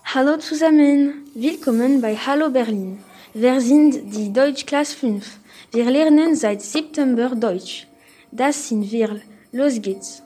Hallo zusammen, willkommen bei Hallo Berlin. Wir sind die Deutschklasse 5. Wir lernen seit September Deutsch. Das sind wir. Los geht's.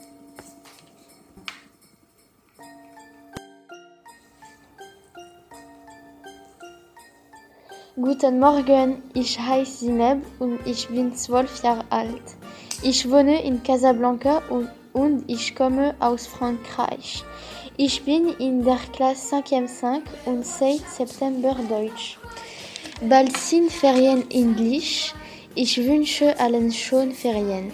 Guten Morgen, ich heiße Zineb und ich bin 12 Jahre alt. Ich wohne in Casablanca und ich komme aus Frankreich. Ich bin in der Klasse 5 und seit September Deutsch. Bald sind Ferien Englisch. Ich wünsche allen schöne Ferien.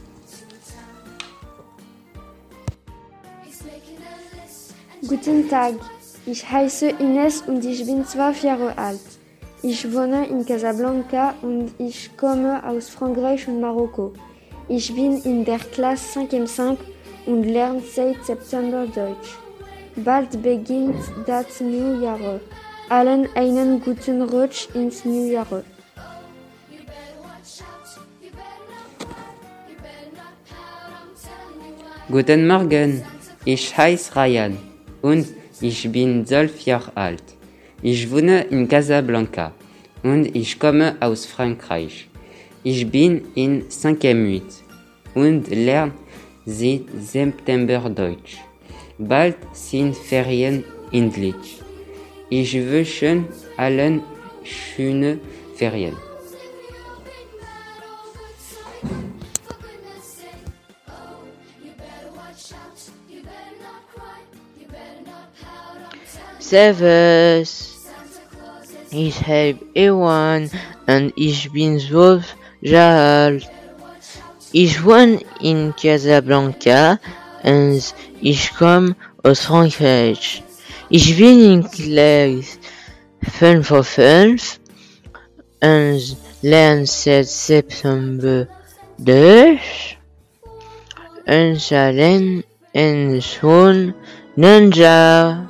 Guten Tag, ich heiße Ines und ich bin 12 Jahre alt. Ich wohne in Casablanca und ich komme aus Frankreich und Marokko. Ich bin in der Klasse 5 und lerne seit September Deutsch. Bald beginnt das Neujahr. Allen einen guten Rutsch ins Neujahr. Guten Morgen, ich heiße Ryan und ich bin 12 Jahre alt. Ich wohne in Casablanca und ich komme aus Frankreich. Ich bin in 5e und lerne seit September Deutsch. Bald sind Ferien Englisch. Ich wünsche allen schöne Ferien. Servus, ich heiße Ewan und ich bin 12 Jahre alt. Ich wohne in Casablanca und ich komme aus Frankreich. Ich bin in Klasse 5 und lerne seit September Deutsch. Und allen einen schönen Jahr.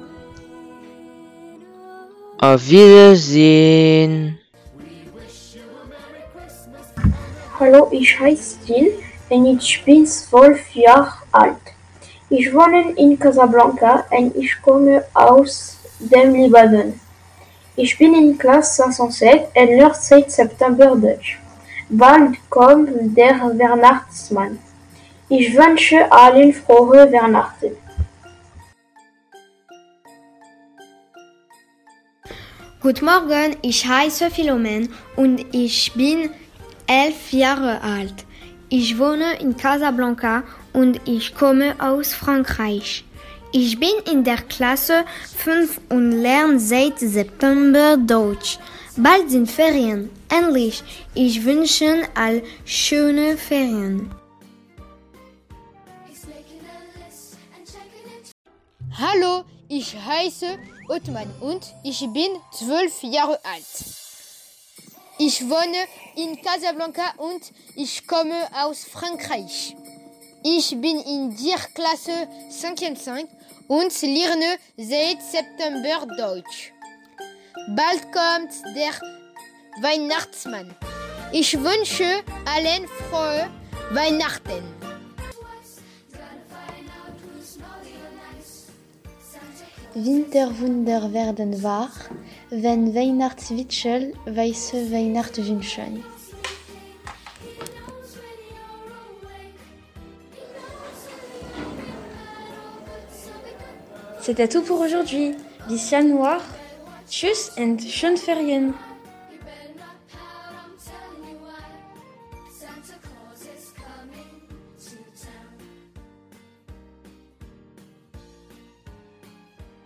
Auf Wiedersehen. Hallo, ich heiße Jill und ich bin 12 Jahre alt. Ich wohne in Casablanca und ich komme aus dem Libanon. Ich bin in Klasse 507 und lerne seit September Deutsch. Bald kommt der Weihnachtsmann. Ich wünsche allen frohe Weihnachten. Guten Morgen, ich heiße Philomen und ich bin 11 Jahre alt. Ich wohne in Casablanca und ich komme aus Frankreich. Ich bin in der Klasse 5 und lerne seit September Deutsch. Bald sind Ferien. Endlich. Ich wünsche all schöne Ferien. Hallo, ich heiße Othman und ich bin 12 Jahre alt. Ich wohne in Casablanca und ich komme aus Frankreich. Ich bin in der Klasse 5 und lerne seit September Deutsch. Bald kommt der Weihnachtsmann. Ich wünsche allen frohe Weihnachten. Winterwunder werden wahr, wenn Weihnachtswitschel weiße Weihnacht wünschen. C'était tout pour aujourd'hui. Bis Januar. Tschüss und schöne Ferien.